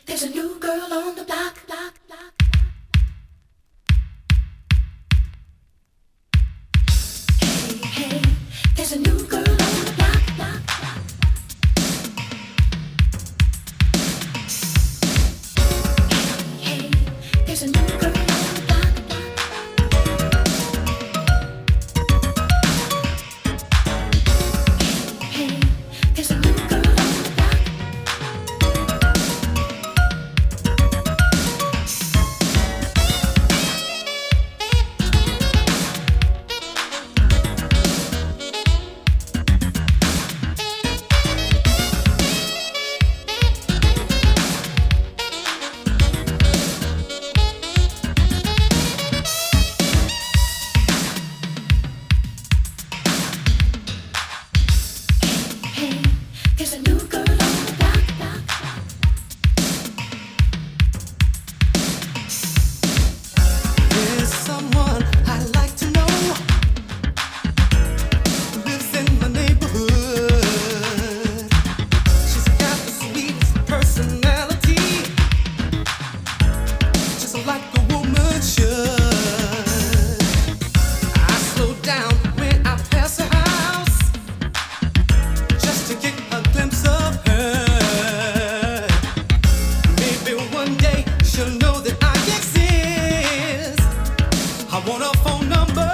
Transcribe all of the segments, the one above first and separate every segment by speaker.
Speaker 1: There's a new girl on the block, block, block. Hey, hey, there's a new girl on the block, block, block. Hey, hey, there's a new girl on the block, block. Hey, hey, there's a new girl on the block. Hey, there's a new girl on the block, block, block.
Speaker 2: There's someone I'd like to know who lives in my neighborhood. She's got the sweetest personality, just like a woman should. I slow down when I pass her house just to get a glimpse of her. Maybe one day she'll know that I exist. I want a phone number.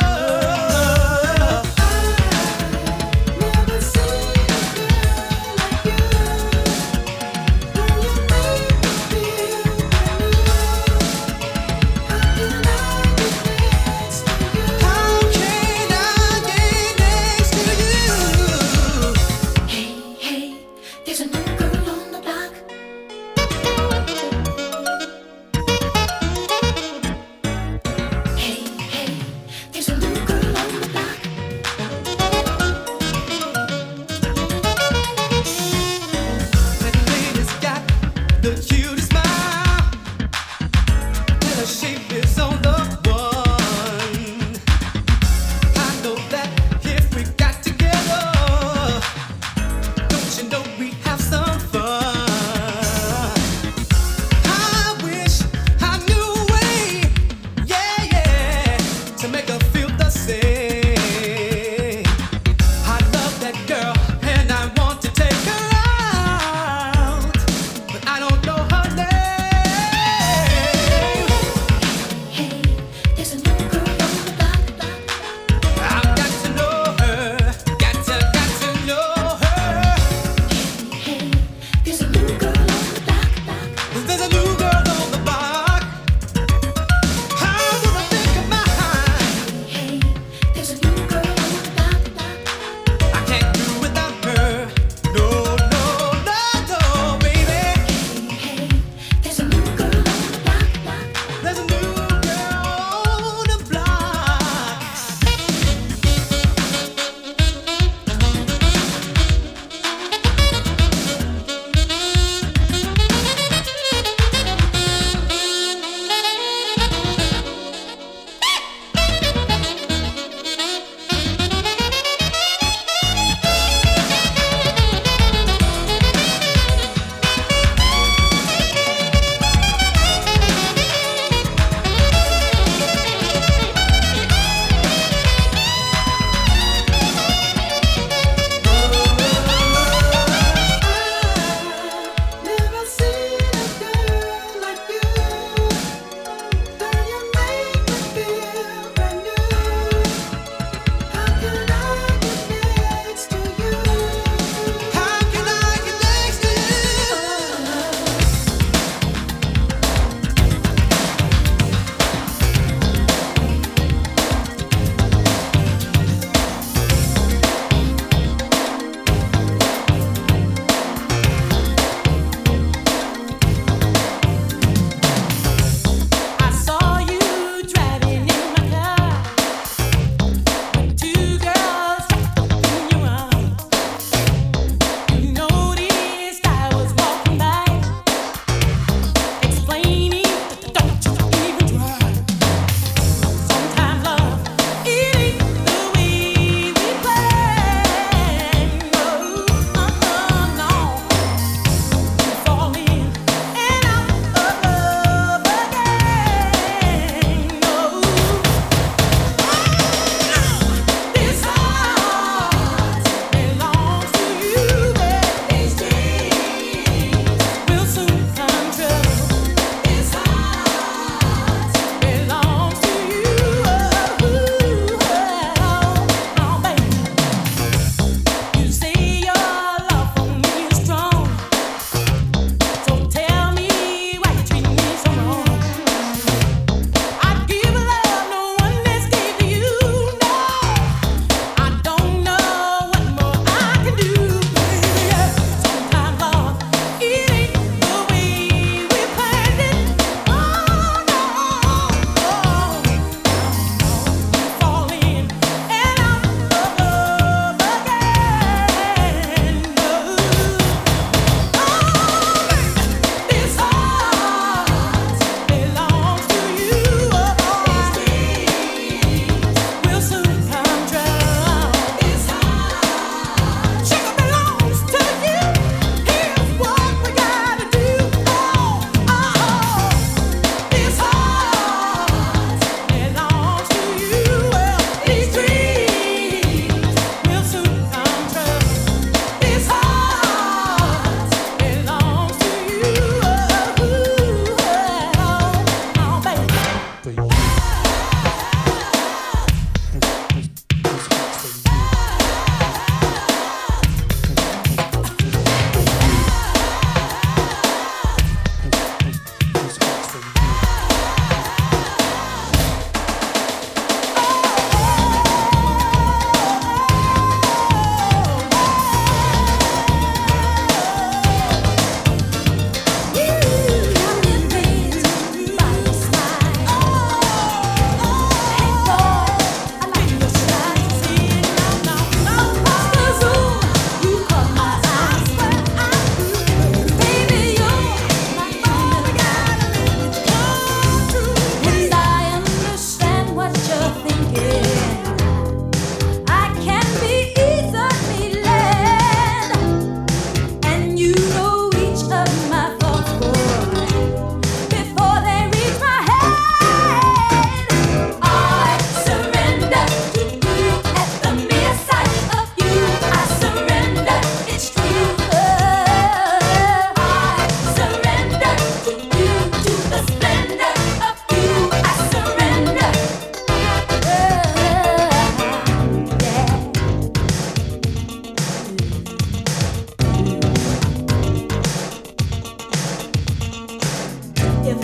Speaker 1: Never seen a girl like you. Girl, you make me feel brand new. How can I get next to you?
Speaker 2: How can I get next to you?
Speaker 1: Hey, hey, there's a new girl on the block. Hey, hey, there's a new girl on the block.
Speaker 2: That lady's got the cutest smile, and her shape is on the one. I know that if we got together, don't you know we have some fun? I wish I knew a way, yeah, yeah, to make her feel the same. I love that girl and I want to take her out, but I don't know her name.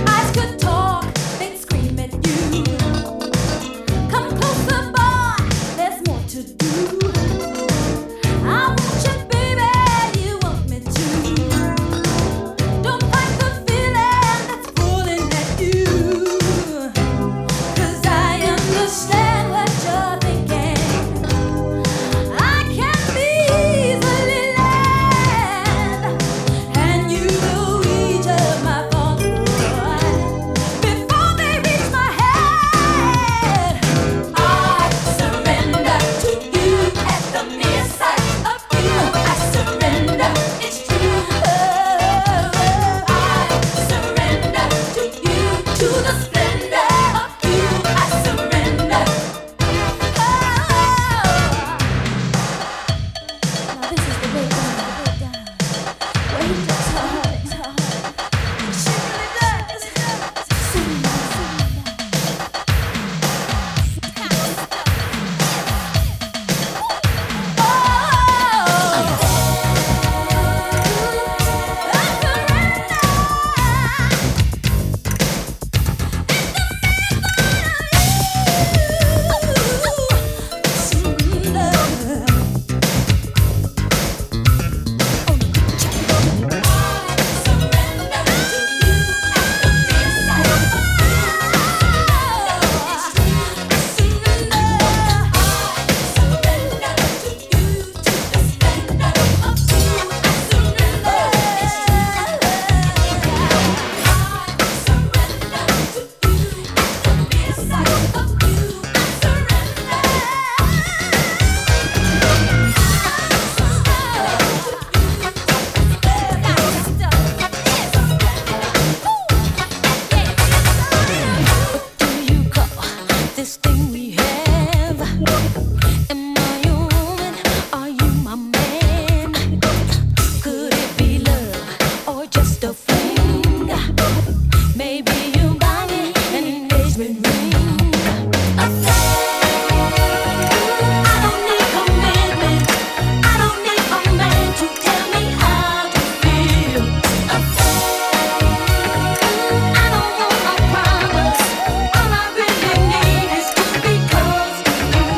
Speaker 1: Eyes could talk, they'd scream at you. Come closer, boy, there's more to do. I want you, baby, you want me to. Don't fight the feeling that's pulling at you. 'Cause I understand what you're thinking. I can be easily led, and you know each of my thoughts, boy, before they reach my head. I surrender to you at the mere sight of you. I surrender, it's true. I surrender to you, to the splendor of you. I surrender. Now this is the breakdown. Where he just hurts. She really does. This thing we have. Am I your woman? Are you my man? Could it be love or just a fling? Maybe you buy me an engagement ring. I don't need commitment. I don't need a man to tell me how to feel. I don't want a promise. All I really need is to be close to you.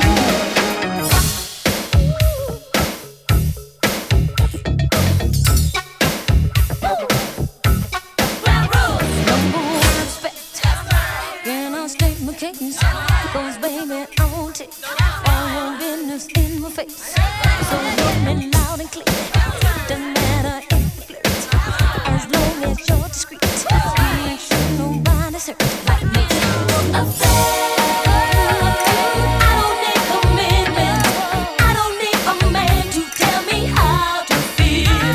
Speaker 1: Ground rules. Number one respect. Can I state my case? 'Cause baby, I won't take all your business in my face. So hear me loud and clear. Doesn't matter if you flirt, as long as you're discreet. Make sure nobody's hurt like me. I don't need commitment. I don't need a man to tell me how to feel.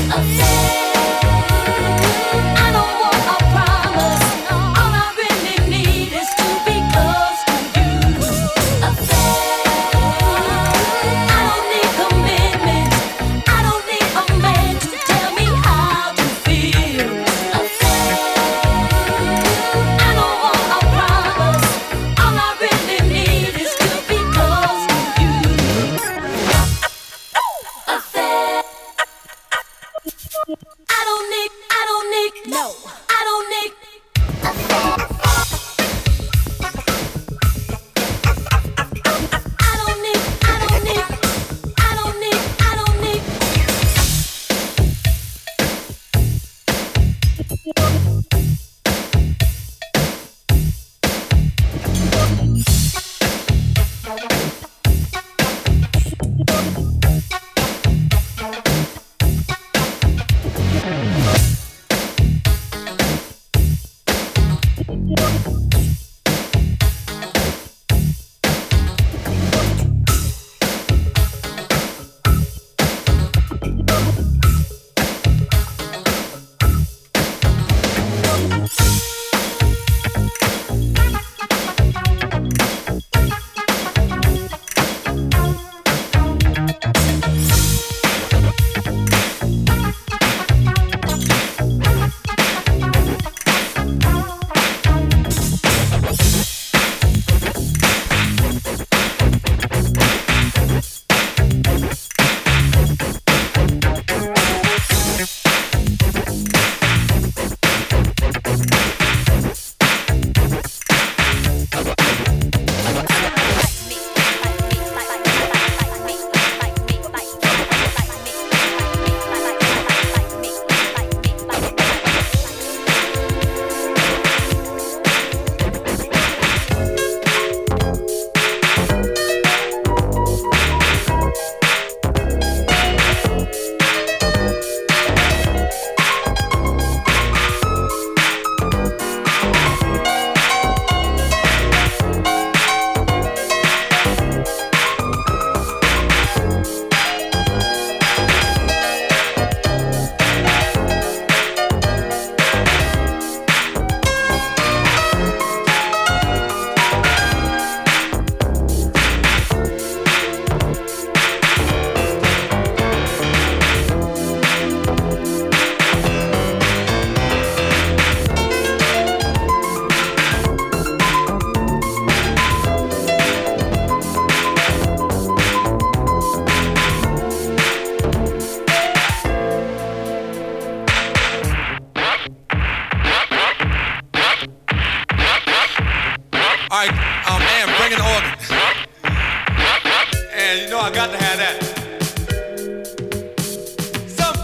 Speaker 1: I don't want a promise. All I really need is to be close to you. I don't need commitment. I don't need a man to tell me how to feel. I don't want a promise. All I really need is to be close to you. I don't need, no, I don't need. I don't need, I don't need, I don't need, I don't need.
Speaker 2: Alright, Am, bring in the organ. And you know I got to have that. Some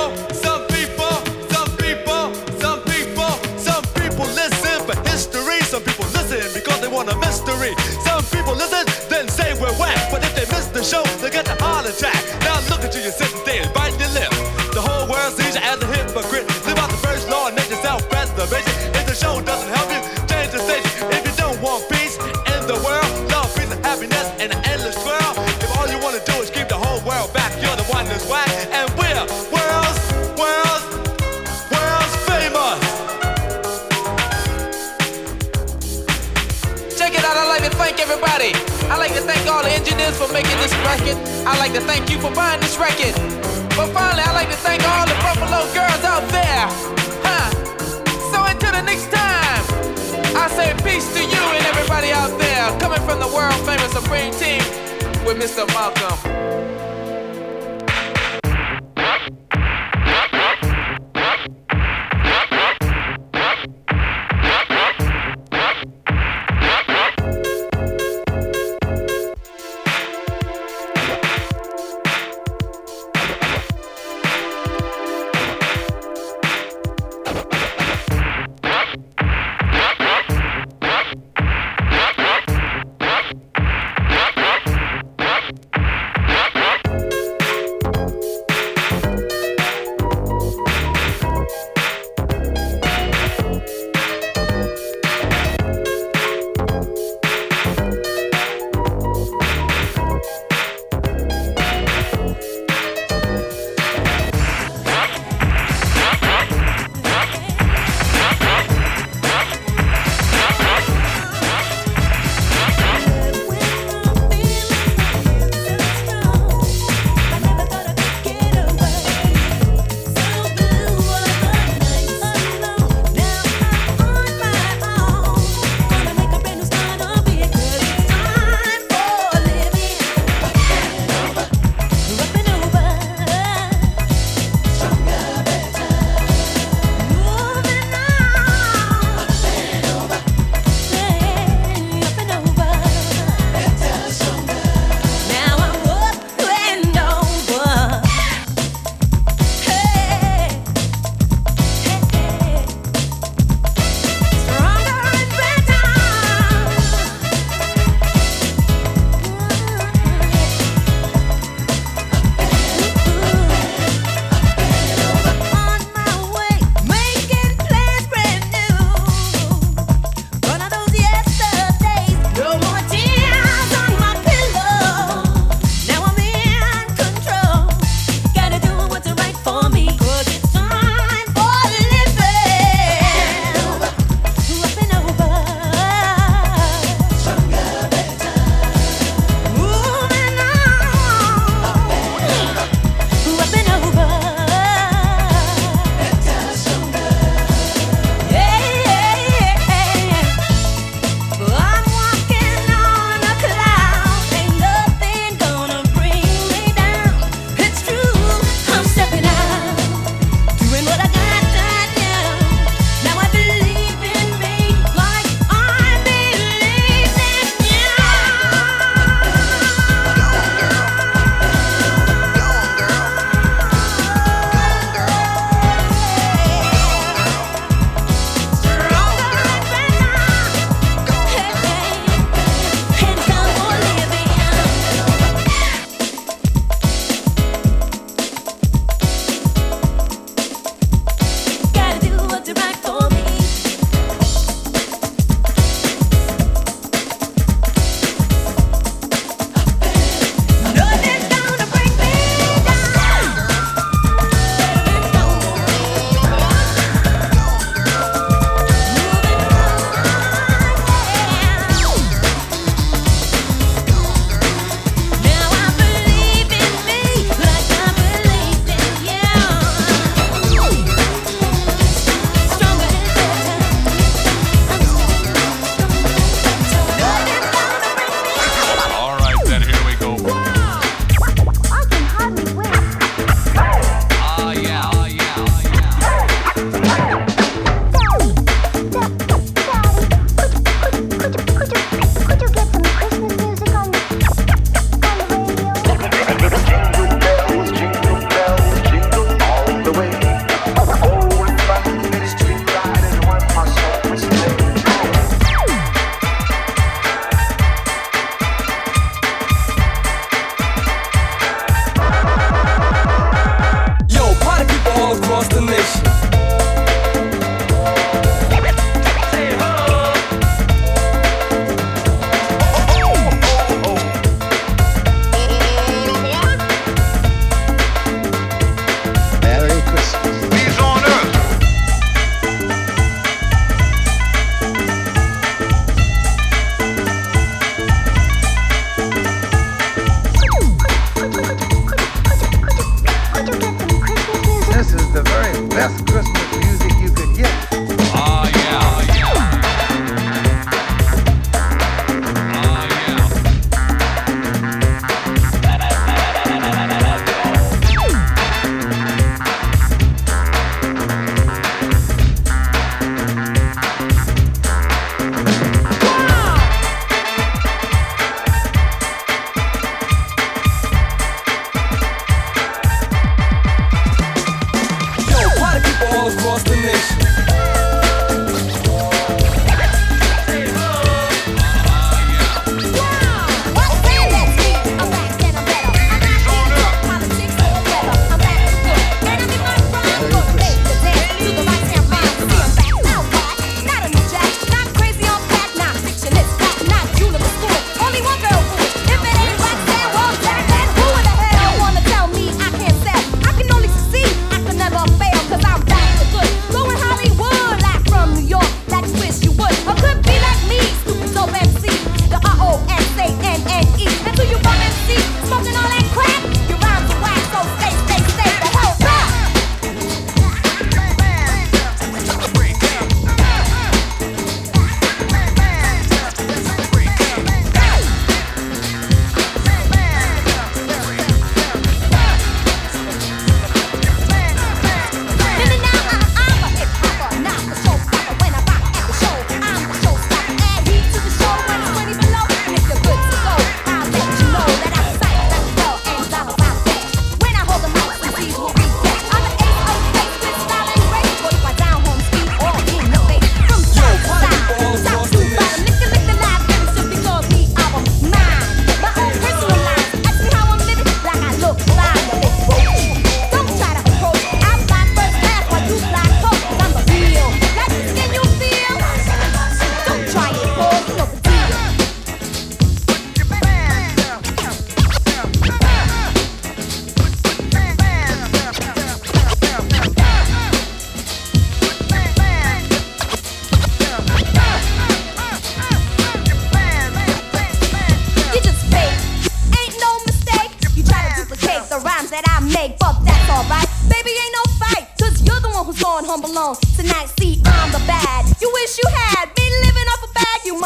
Speaker 2: people listen for history. Some people listen because they want a mystery. Some people listen, then say we're whack. But if they miss the show, they get the heart attack. Now look at you, you're sitting there and biting your lip. The whole world sees you as a hypocrite. Live out the first law and make yourself preservation. If the show doesn't help you, change the station. If you don't want peace in the world, love, peace, and happiness, and an endless swirl. If all you want to do is keep the whole world back, you're the one that's whack. And we're world's famous.
Speaker 3: Check it out, I like to thank everybody. I like to thank all the engineers for making this record. I like to thank you for buying this record. But finally, I like to thank all the Buffalo girls out there. So until the next time, I say peace to you and everybody out there. Coming from the world famous Supreme Team with Mr. Malcolm.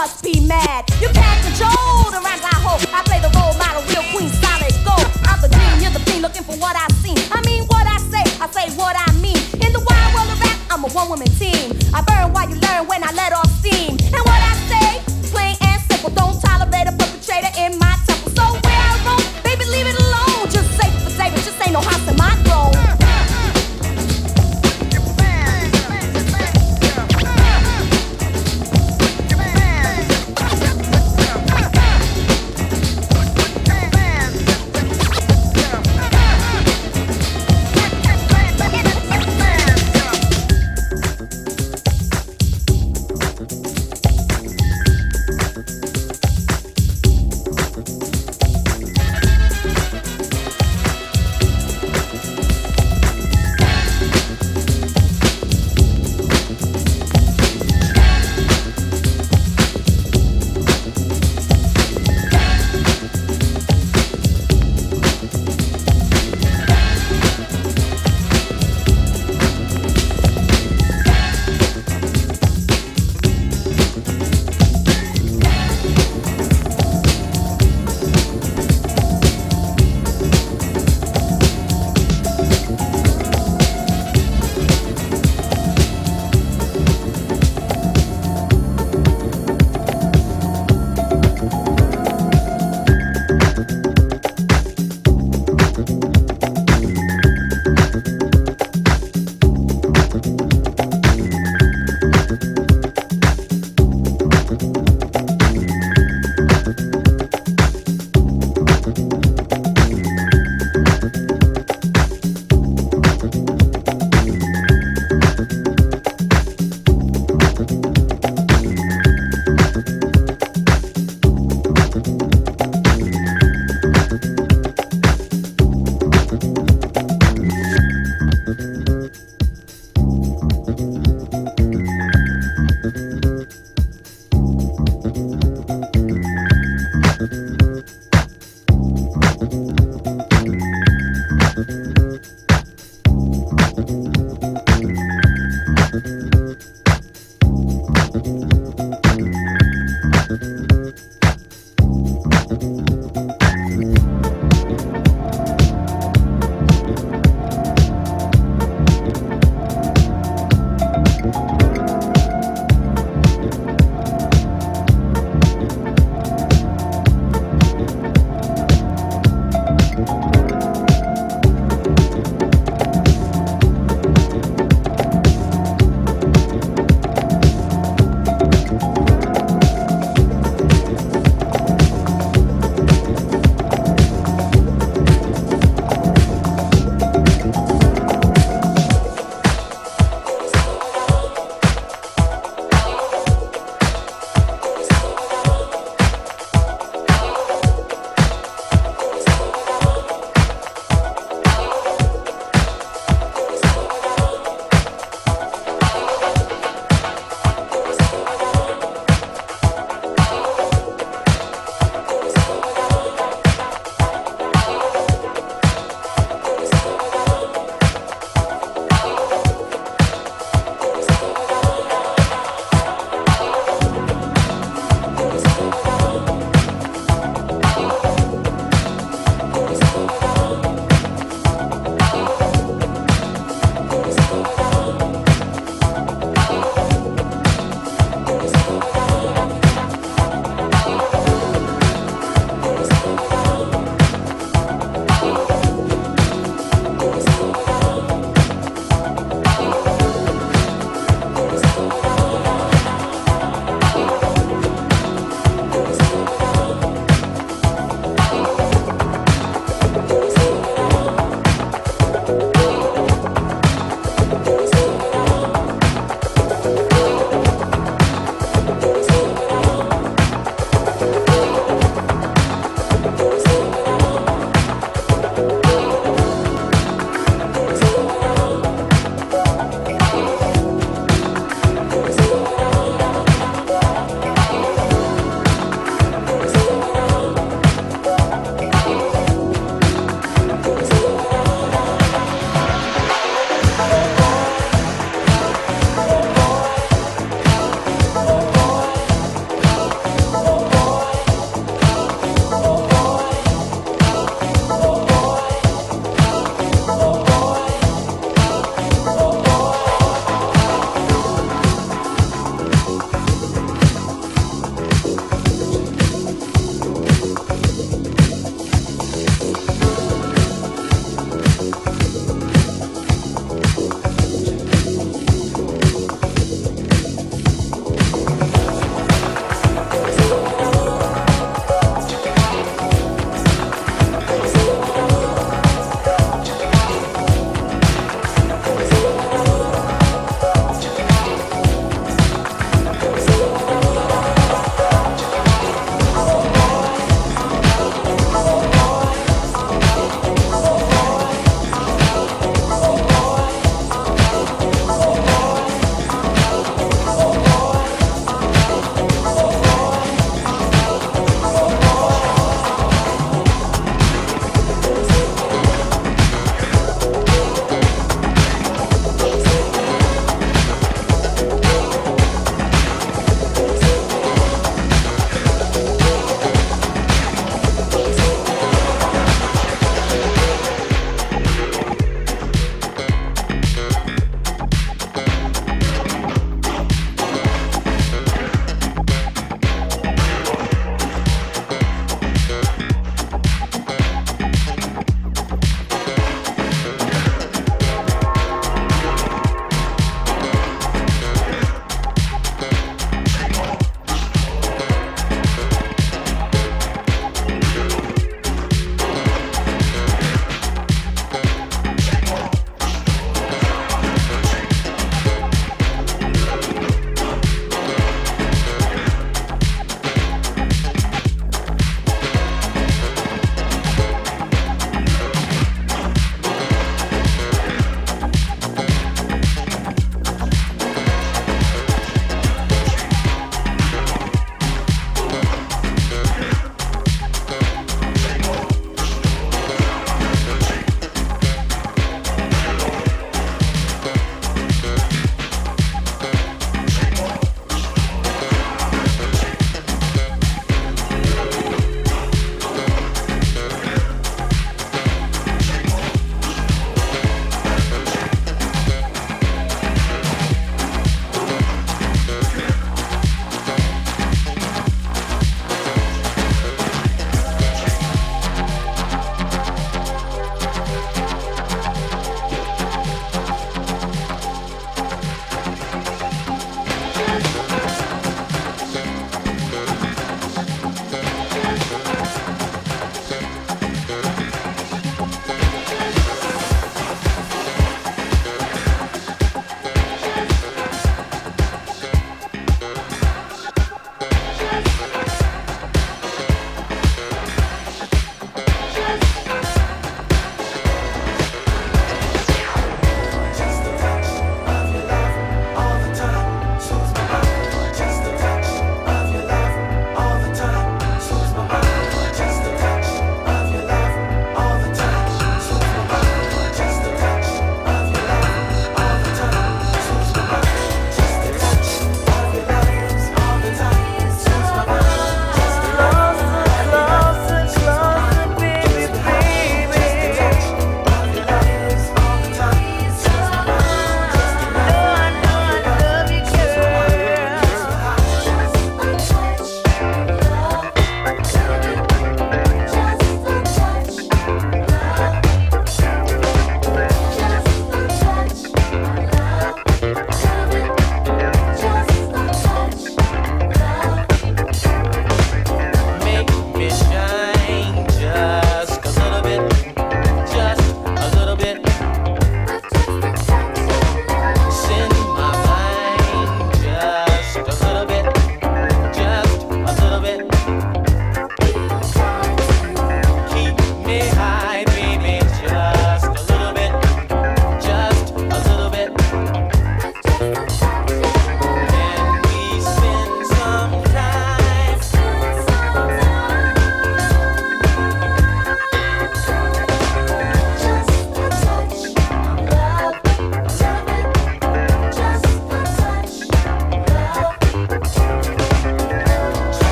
Speaker 4: must be mad. You can't control the rhymes I hold. I play the role model, real queen, solid gold. I'm the dream, you're the fiend, looking for what I seen. I mean what I say what I mean. In the wild world of rap, I'm a one-woman team. I burn while you learn when I let off steam. And what I say, plain and simple, don't tolerate a perpetrator in my temple. So where I roam, baby, leave it alone. Just safe for David, just ain't no house in my throne.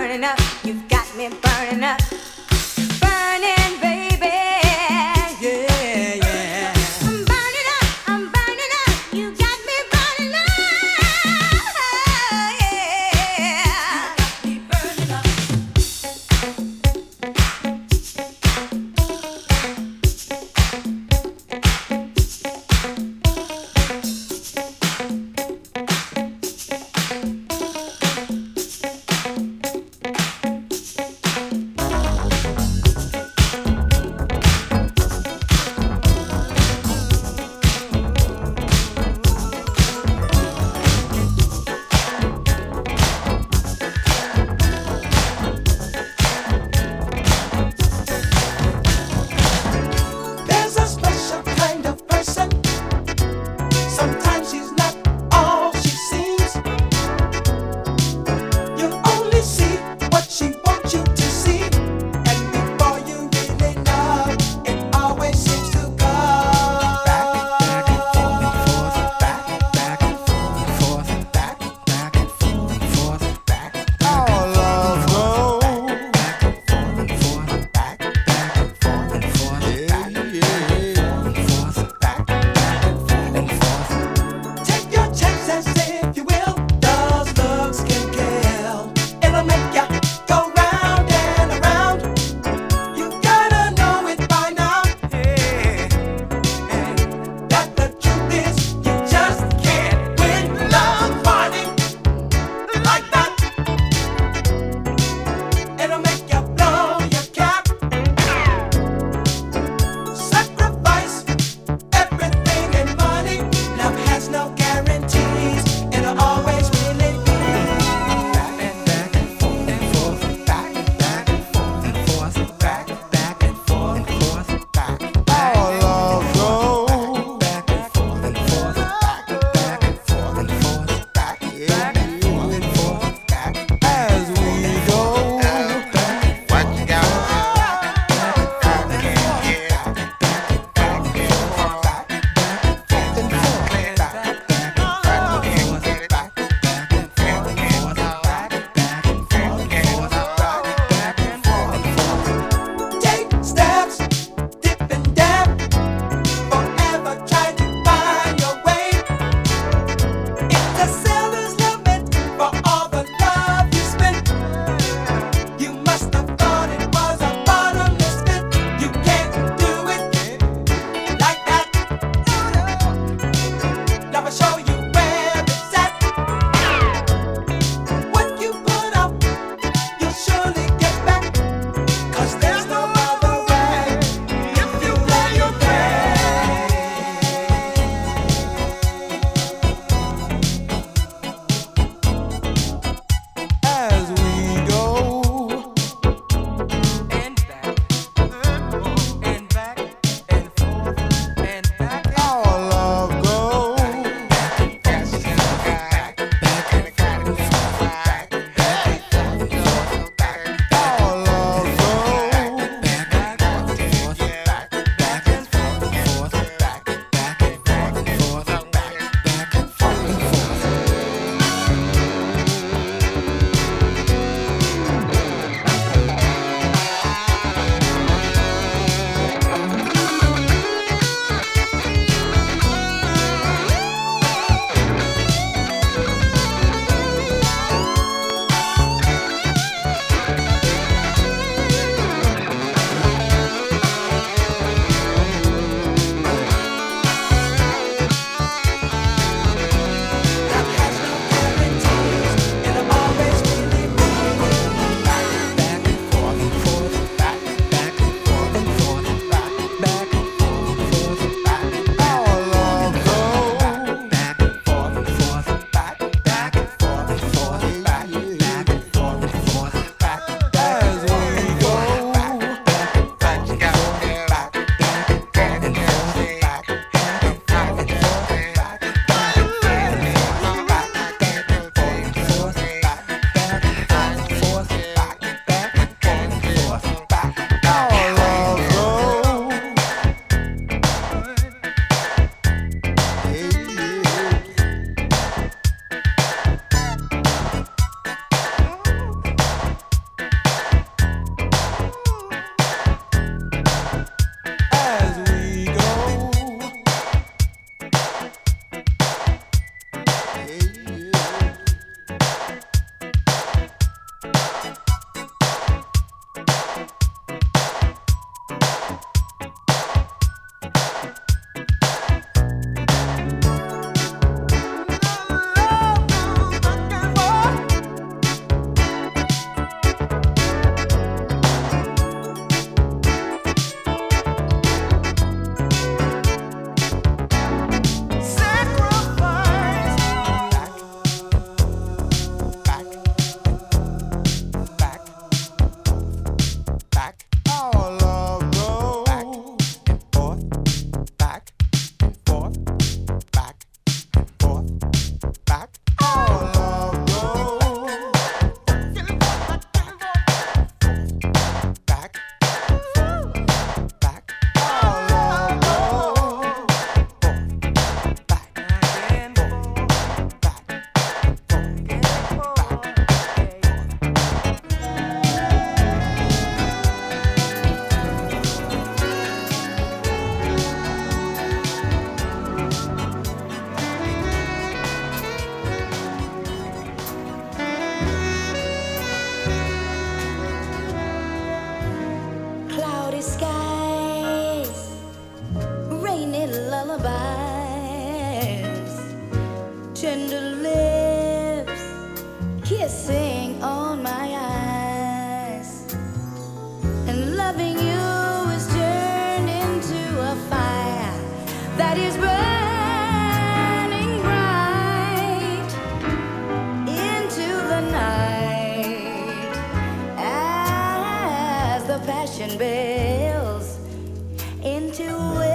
Speaker 4: burning up. You've got me burning up. Burning, baby.
Speaker 2: Yeah, yeah.
Speaker 4: I'm burning up. You got me burning up. Yeah. You got me burning up.
Speaker 5: There's a special kind of person. Sometimes she's not all she seems. You only see what she wants you to see. And before you really know, it always seems to go
Speaker 2: Back and forth, back and forth, back and forth, back.
Speaker 6: Our love goes.
Speaker 2: Back and forth, back and forth,
Speaker 6: Yeah, yeah.
Speaker 5: Take your chances if you will. Those looks can kill. It'll make ya go round and around. You gotta know it by now. That the truth is, you just can't win love fighting like that. It'll make you blow your cap. Sacrifice everything and money. Love has no guarantees. It'll always really be back and forth,
Speaker 4: changing bells into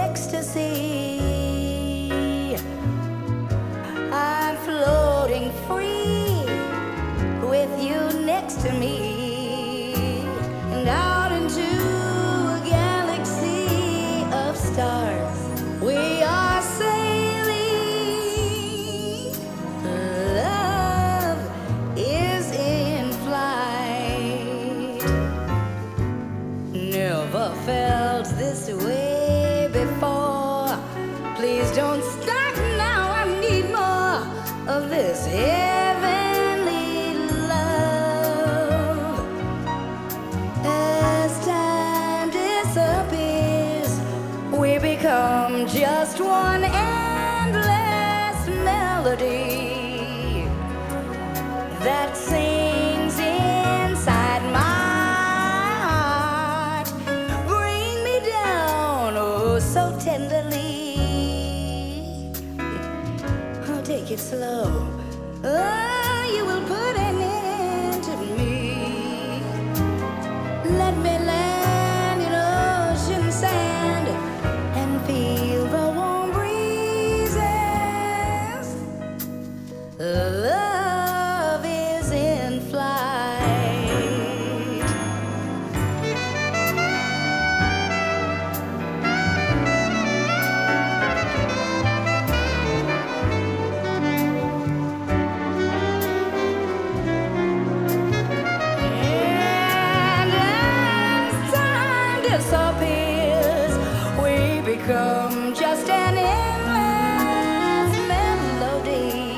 Speaker 4: ecstasy. I'm floating free with you next to me, and out into a galaxy of stars we are sailing. Love is in flight. Never felt this way before. Please don't stop now, I need more of this heavenly love. As time disappears, we become just one endless melody that sings inside my heart. Bring me down, oh, so tenderly. Oh, take it slow. Oh, you will put an end to me. Let me land in ocean sand and feel the warm breezes. Love is in flight. And as time disappears, we become just an endless melody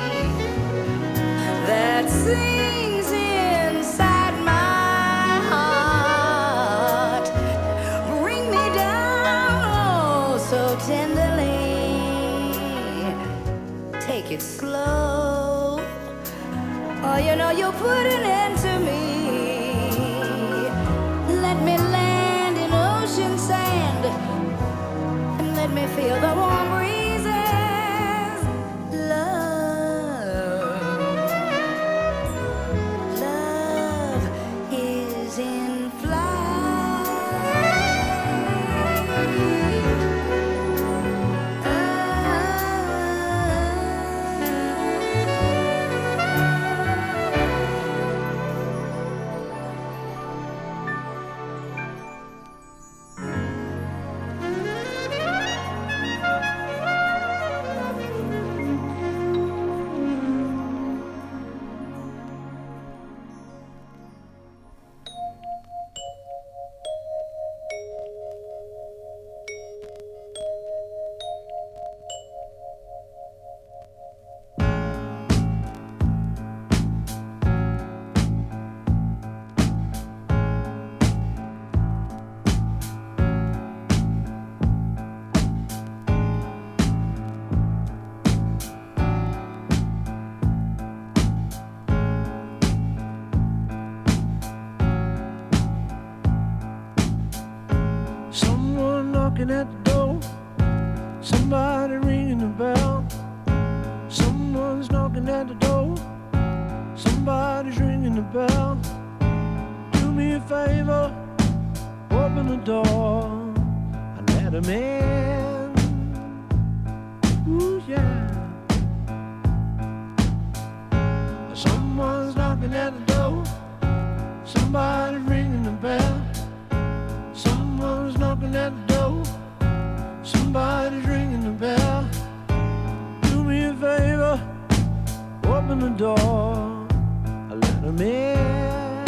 Speaker 4: that sings inside my heart. Bring me down, oh, so tenderly. Take it slow. Oh, you know you'll put an end to me. Let me land in ocean sand and let me feel the warm breezes. Love is in
Speaker 7: Someone knocking at the door, somebody ringing the bell. Someone's knocking at the door, somebody's ringing the bell. Do me a favor, open the door and let 'em in. Ooh, yeah. Someone's knocking at the door, somebody's ringing the bell. Someone's knocking at the door, somebody's ringing the bell. Do me a favor, open the door, let 'em in,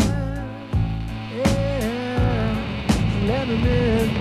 Speaker 7: yeah, let 'em in.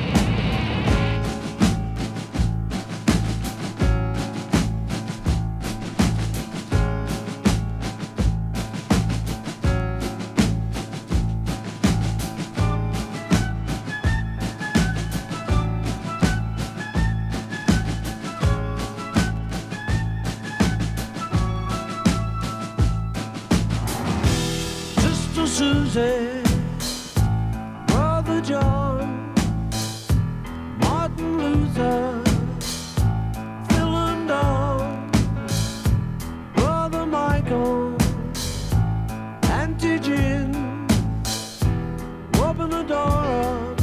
Speaker 7: Susie, Brother John, Martin Luther, Phil and Don, Brother Michael, Auntie Jim, open the door up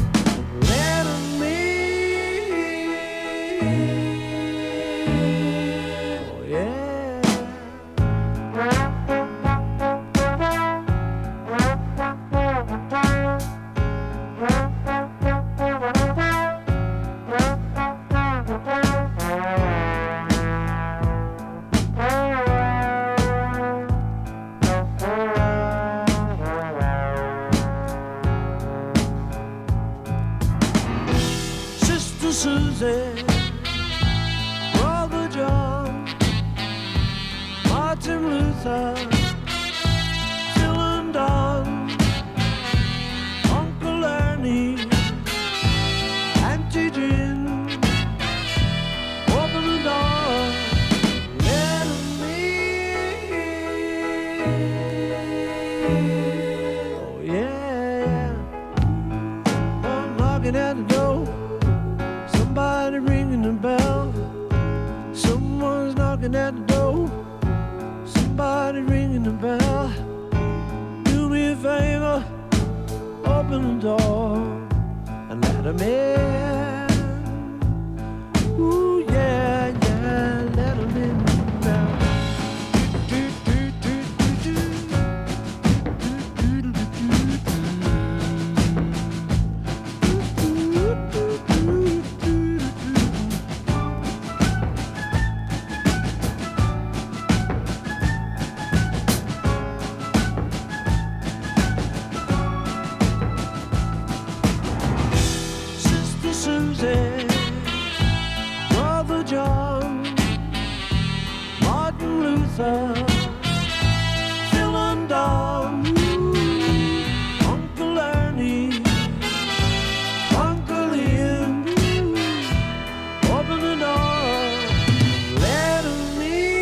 Speaker 7: Susie, Brother John, Martin Luther, Phil and Don, Uncle Ernie, Auntie Jim, open the door, let 'em in. Oh yeah, I'm knocking at the door. Somebody ringing the bell. Someone's knocking at the door. Somebody ringing the bell. Do me a favor, open the door and let 'em in. Ooh yeah, yeah, let 'em in now. Susie, Brother John, Martin Luther, Phil and Don, Uncle Ernie, Uncle Ian, open the door, let 'em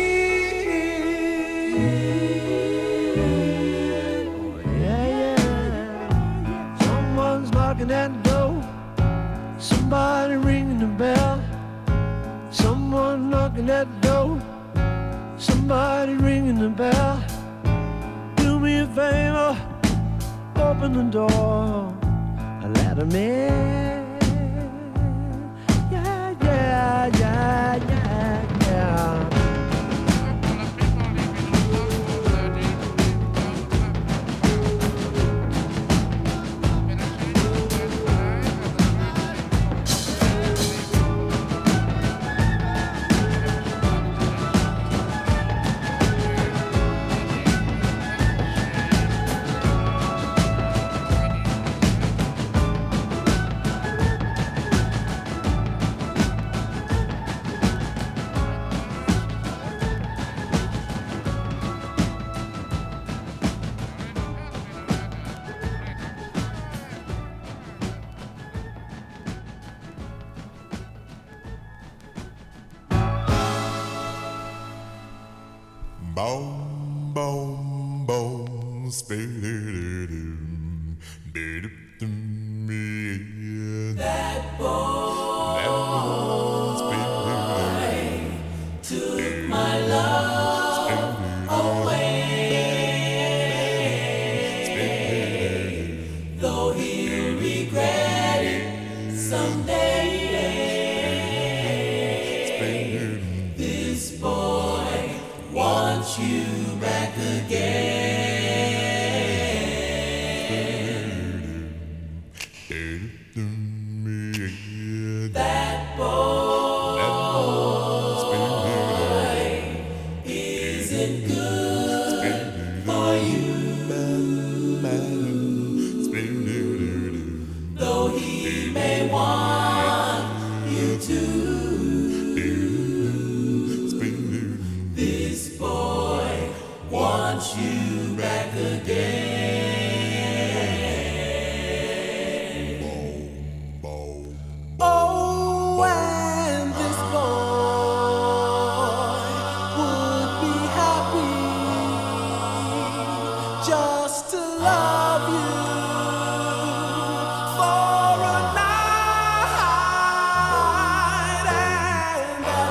Speaker 7: in. Oh, yeah, yeah, someone's knocking at the door. Somebody ringing the bell. Someone knocking at the door. Somebody ringing the bell. Do me a favor, open the door and let 'em in. Yeah, yeah, yeah, yeah, yeah.
Speaker 6: Boom, boom, boom, spin-a-doo-doo, be-doo-doo-me. That boy took my love away, though he'll regret it someday. This boy wants you back again. That boy isn't good for you, though he may want you to. This boy wants you back again. Oh, and this boy would be happy just to love you for a night, and that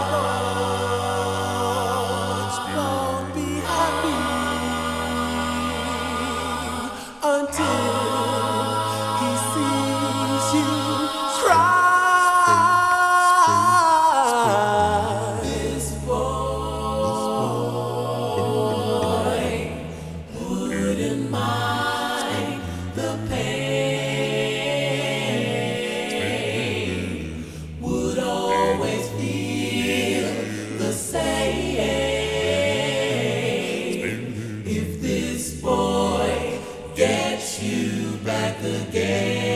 Speaker 6: boy won't be happy until he sees you cry. This boy wouldn't mind the pain, would always feel the same if this boy gets you back again.